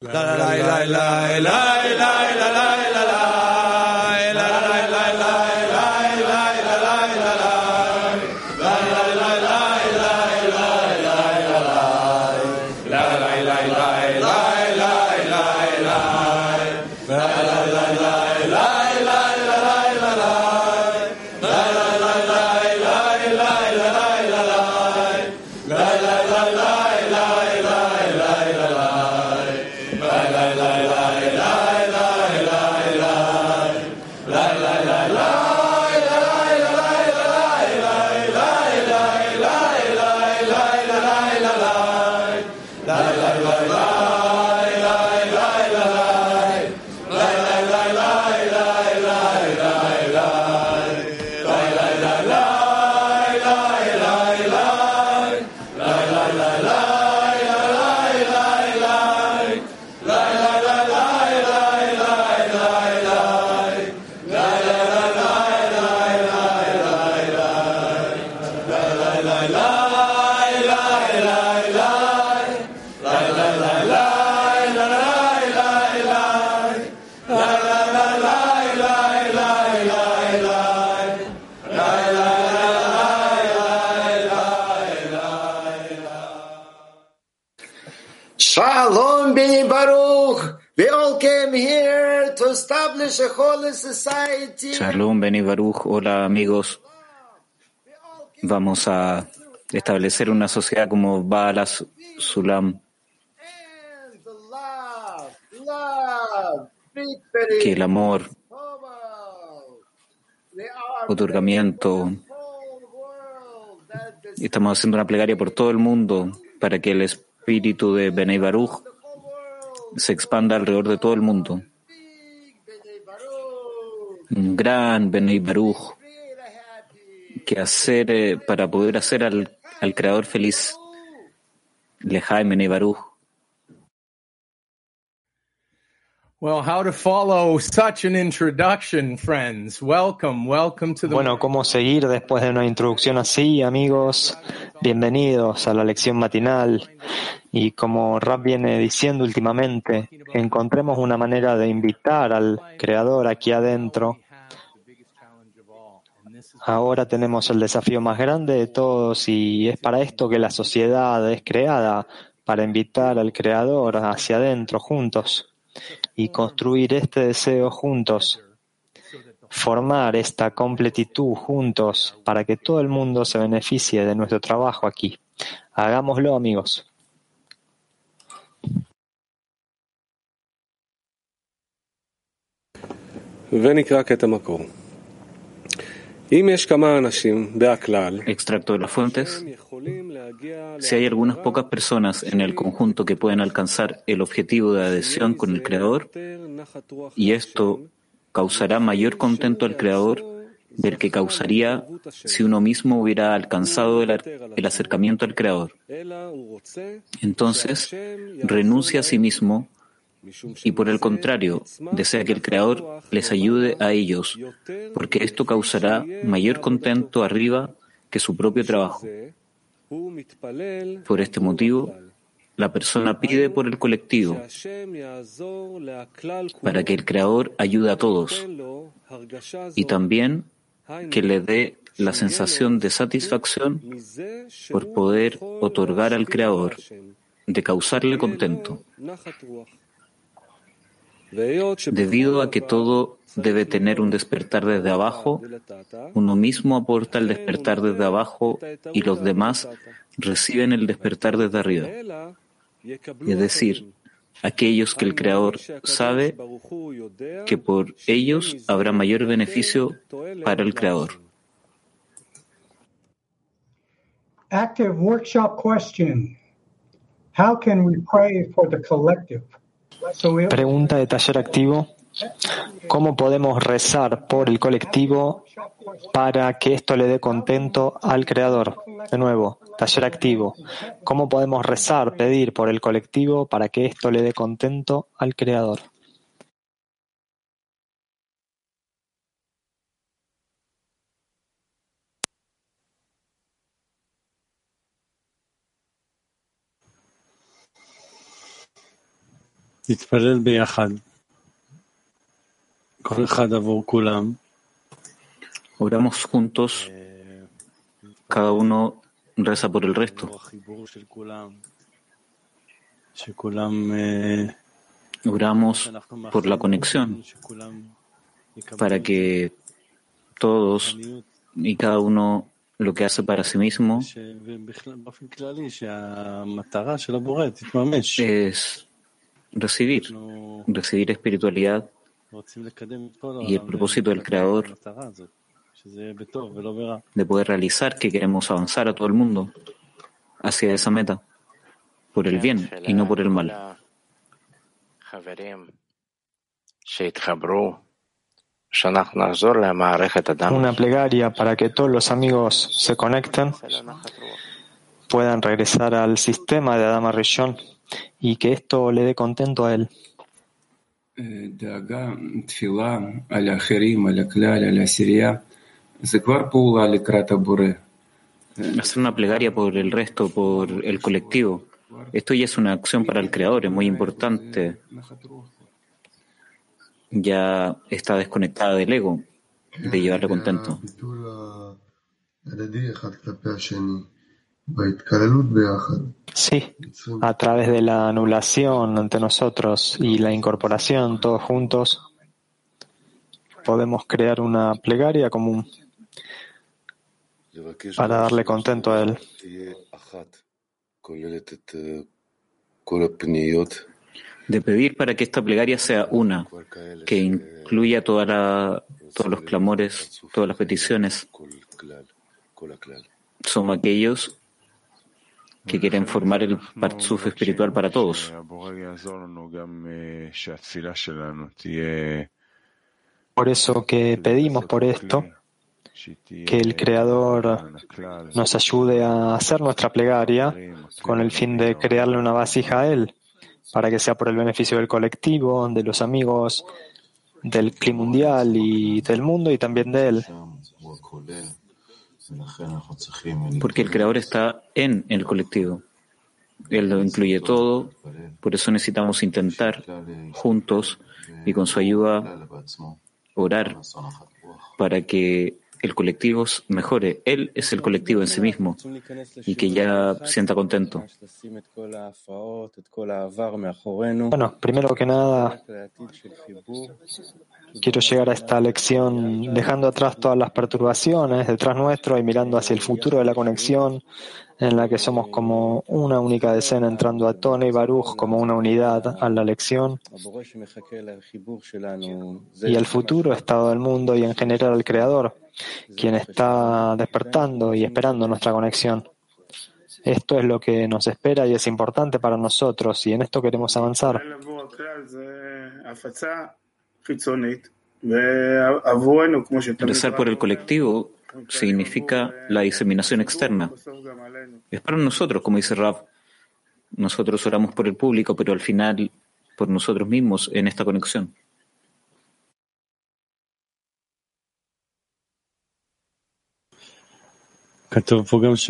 Shalom Beni Baruch. We all came here to establish a holy society. Shalom Beni Baruch. Hola amigos. Vamos a establecer una sociedad como Baal Sulam. Que el amor, otorgamiento. Estamos haciendo una plegaria por todo el mundo para que el espíritu de Benei Baruch se expanda alrededor de todo el mundo. Un gran Benei Baruch que hacer para poder hacer al Creador feliz. Lejaim Benei Baruch. Well, how to follow such an introduction, friends. Welcome to the... Bueno, ¿cómo seguir después de una introducción así, amigos? Bienvenidos a la lección matinal. Y como Rab viene diciendo últimamente, encontremos una manera de invitar al Creador aquí adentro. Ahora tenemos el desafío más grande de todos y es para esto que la sociedad es creada, para invitar al Creador hacia adentro juntos y construir este deseo juntos, formar esta completitud juntos para que todo el mundo se beneficie de nuestro trabajo aquí. Hagámoslo, amigos. Extracto de las fuentes. Si hay algunas pocas personas en el conjunto que pueden alcanzar el objetivo de adhesión con el Creador, y esto causará mayor contento al Creador del que causaría si uno mismo hubiera alcanzado el acercamiento al Creador. Entonces, renuncia a sí mismo y por el contrario, desea que el Creador les ayude a ellos, porque esto causará mayor contento arriba que su propio trabajo. Por este motivo, la persona pide por el colectivo, para que el Creador ayude a todos, y también que le dé la sensación de satisfacción por poder otorgar al Creador, de causarle contento. Debido a que todo debe tener un despertar desde abajo, uno mismo aporta el despertar desde abajo y los demás reciben el despertar desde arriba. Es decir, aquellos que el Creador sabe que por ellos habrá mayor beneficio para el Creador. Active workshop question. How can we pray for the collective? Pregunta de taller activo. ¿Cómo podemos rezar por el colectivo para que esto le dé contento al Creador? De nuevo, taller activo. ¿Cómo podemos rezar, pedir por el colectivo para que esto le dé contento al Creador? להתפלל ביחד, כל אחד עבור כולם. Oramos juntos, cada uno reza por el resto. Oramos por la conexión, para que todos y cada uno lo que hace para sí mismo es recibir espiritualidad, y el propósito del Creador de poder realizar que queremos avanzar a todo el mundo hacia esa meta, por el bien y no por el mal. Una plegaria para que todos los amigos se conecten, puedan regresar al sistema de Adama Rishon y que esto le dé contento a él. Hacer una plegaria por el resto, por el colectivo, esto ya es una acción para el Creador, es muy importante. Ya está desconectada del ego, de llevarle contento. Sí, a través de la anulación ante nosotros y la incorporación todos juntos, podemos crear una plegaria común para darle contento a él. De pedir para que esta plegaria sea una, que incluya todos los clamores, todas las peticiones. Somos aquellos que quieren formar el Parzuf espiritual para todos. Por eso que pedimos por esto, que el Creador nos ayude a hacer nuestra plegaria con el fin de crearle una vasija a Él, para que sea por el beneficio del colectivo, de los amigos, del clima mundial y del mundo y también de Él. Porque el Creador está en el colectivo. Él lo incluye todo, por eso necesitamos intentar juntos y con su ayuda orar para que el colectivo mejore. Él es el colectivo en sí mismo y que ya sienta contento. Bueno, primero que nada, quiero llegar a esta lección dejando atrás todas las perturbaciones detrás nuestro y mirando hacia el futuro de la conexión, en la que somos como una única decena entrando a Tone y Baruch como una unidad a la lección, y el futuro estado del mundo y en general el Creador, quien está despertando y esperando nuestra conexión. Esto es lo que nos espera y es importante para nosotros, y en esto queremos avanzar. Rezar por el colectivo significa la diseminación externa. Es para nosotros, como dice Rav. Nosotros oramos por el público, pero al final por nosotros mismos en esta conexión. כתוב פה גם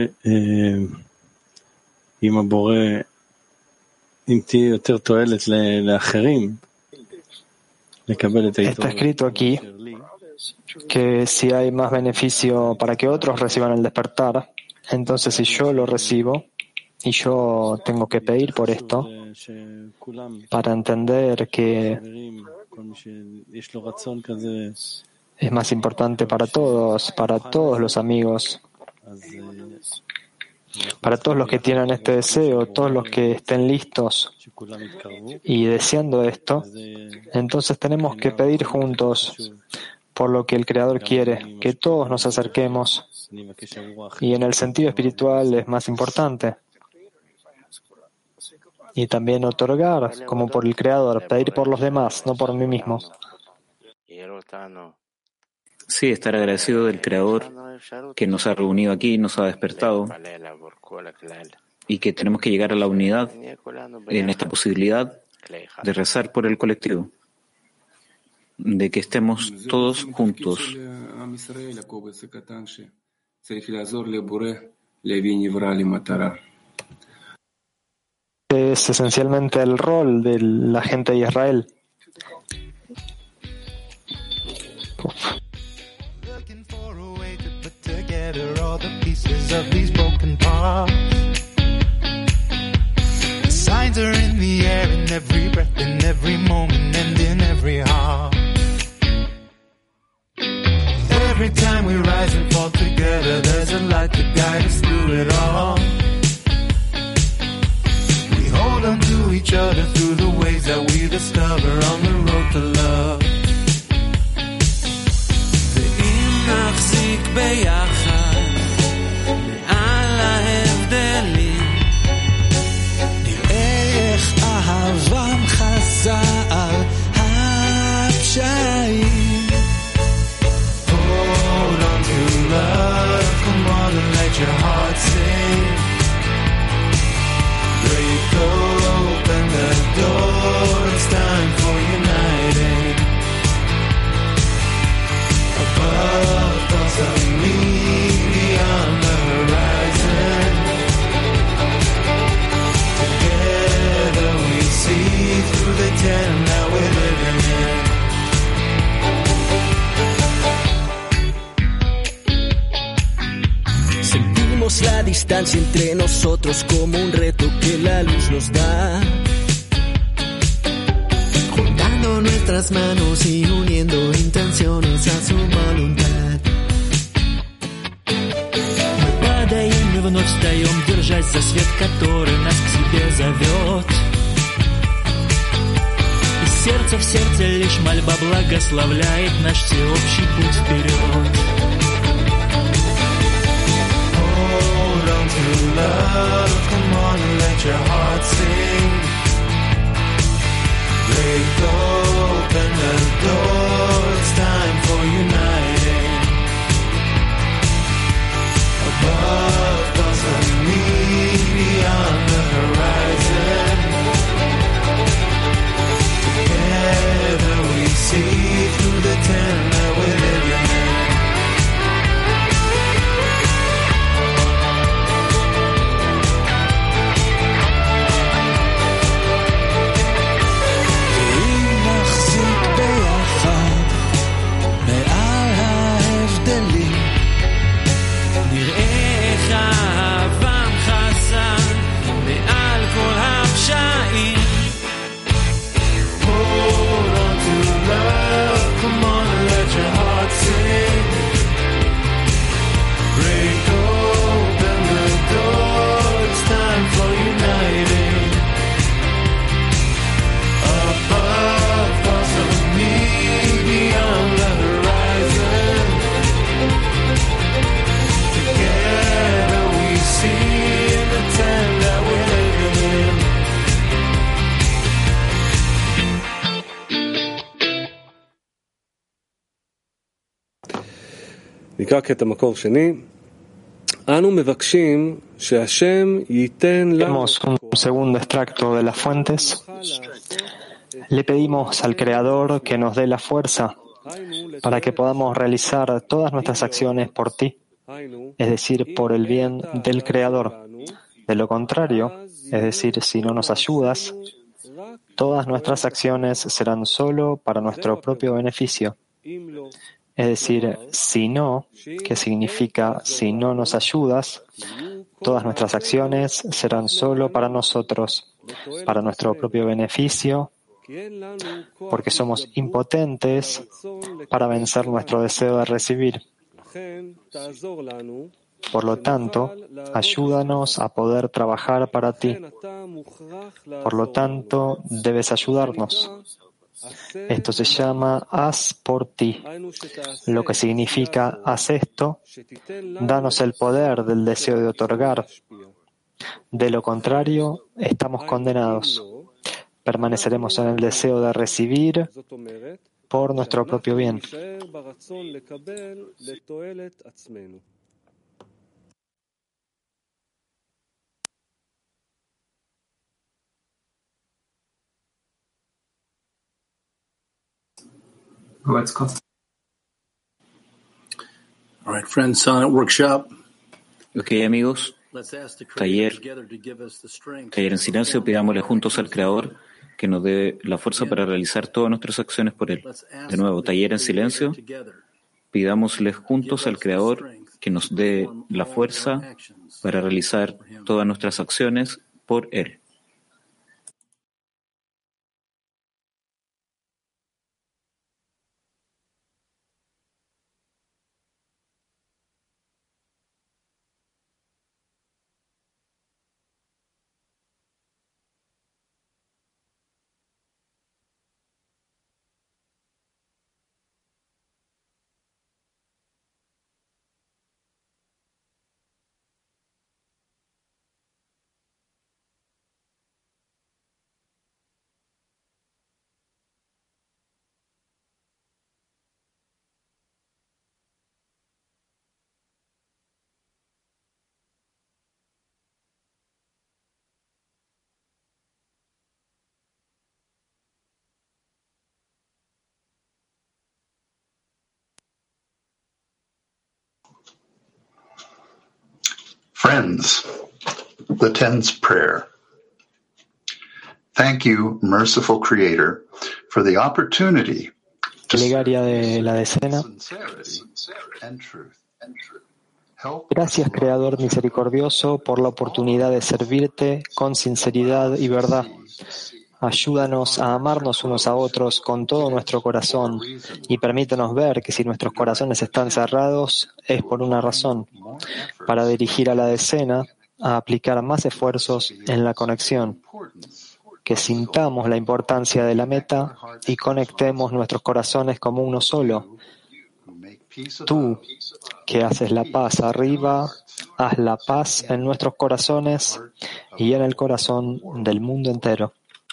עם הבורא, אם תהיה יותר תועלת לאחרים, לקבל את היתרון. Está escrito aquí que si hay más beneficio para que otros reciban el despertar, entonces si yo lo recibo y yo tengo que pedir por esto, para entender que es más importante para todos los amigos, para todos los que tienen este deseo, todos los que estén listos y deseando esto, entonces tenemos que pedir juntos por lo que el Creador quiere, que todos nos acerquemos, y en el sentido espiritual es más importante. Y también otorgar, como por el Creador, pedir por los demás, no por mí mismo. Sí, estar agradecido del Creador que nos ha reunido aquí, nos ha despertado y que tenemos que llegar a la unidad en esta posibilidad de rezar por el colectivo, de que estemos todos juntos. es esencialmente el rol de la gente de Israel. Looking for a way to put together all the pieces of these broken parts. The signs are in the air, in every breath, in every moment, and in every heart. Every time we rise and fall together, there's a light to guide us through it all. We hold on to each other through the ways that we discover on the road to love. ואם נחזיק ביחד מעל ההבדלים, נראה איך אהבם חזה על הפשעים. Hold on to love, come on and let your heart sing. Break open the door, it's time for uniting. Above thoughts of me, beyond the horizon. Together we see through the tent that we're living in. Sentimos la distancia entre nosotros como un reto que la luz nos da. Juntando nuestras manos y uniendo intenciones a su voluntad. Мы падаем и вновь встаем, держась за свет, который нас к себе зовет. Из сердца в сердце лишь мольба благословляет наш всеобщий путь вперед. Hold on to love, come on and let your heart sing. Break open the door, it's time for uniting. Above thoughts of me, beyond the horizon. Together we see through the tent that we're living in. Vemos un segundo extracto de las fuentes. Le pedimos al Creador que nos dé la fuerza para que podamos realizar todas nuestras acciones por ti, es decir, por el bien del Creador. De lo contrario, es decir, si no nos ayudas, todas nuestras acciones serán solo para nuestro propio beneficio. Es decir, si no, que significa si no nos ayudas, todas nuestras acciones serán solo para nosotros, para nuestro propio beneficio, porque somos impotentes para vencer nuestro deseo de recibir. Por lo tanto, ayúdanos a poder trabajar para ti. Por lo tanto, debes ayudarnos. Esto se llama haz por ti, lo que significa haz esto, danos el poder del deseo de otorgar. De lo contrario, estamos condenados. Permaneceremos en el deseo de recibir por nuestro propio bien. All right, friends, Sonnet Workshop. Ok, amigos, Taller en silencio, pidámosle juntos al Creador que nos dé la fuerza para realizar todas nuestras acciones por Él. De nuevo, taller en silencio, pidámosle juntos al Creador que nos dé la fuerza para realizar todas nuestras acciones por Él. Friends, the Ten's Prayer. Thank you, merciful Creator, for the opportunity to Plegaria de la decena. sincerity and truth. Gracias, Creador misericordioso, por la oportunidad de servirte con sinceridad y verdad. Ayúdanos a amarnos unos a otros con todo nuestro corazón y permítanos ver que si nuestros corazones están cerrados es por una razón, para dirigir a la decena a aplicar más esfuerzos en la conexión, que sintamos la importancia de la meta y conectemos nuestros corazones como uno solo. Tú, que haces la paz arriba, haz la paz en nuestros corazones y en el corazón del mundo entero.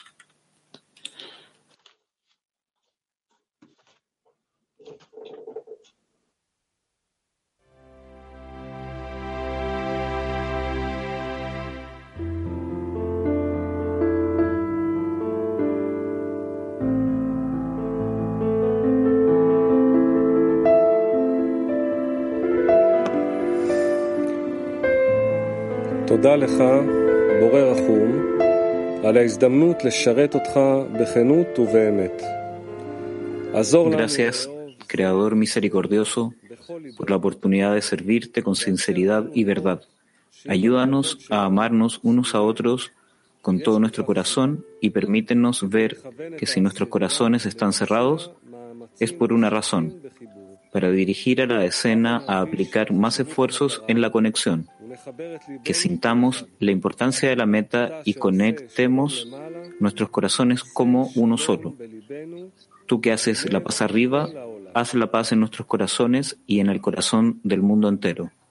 תודה לך, בורא רחום, על ההזדמנות לשרת אותך בכנות ובאמת. עזור לנו. Gracias, Creador misericordioso, por la oportunidad de servirte con sinceridad y verdad. Ayúdanos a amarnos unos a otros con todo nuestro corazón y permítenos ver que si nuestros corazones están cerrados es por una razón, para dirigir a la decena a aplicar más esfuerzos en la conexión, que sintamos la importancia de la meta y conectemos nuestros corazones como uno solo. Tú que haces la paz arriba, haz la paz en nuestros corazones y en el corazón del mundo entero.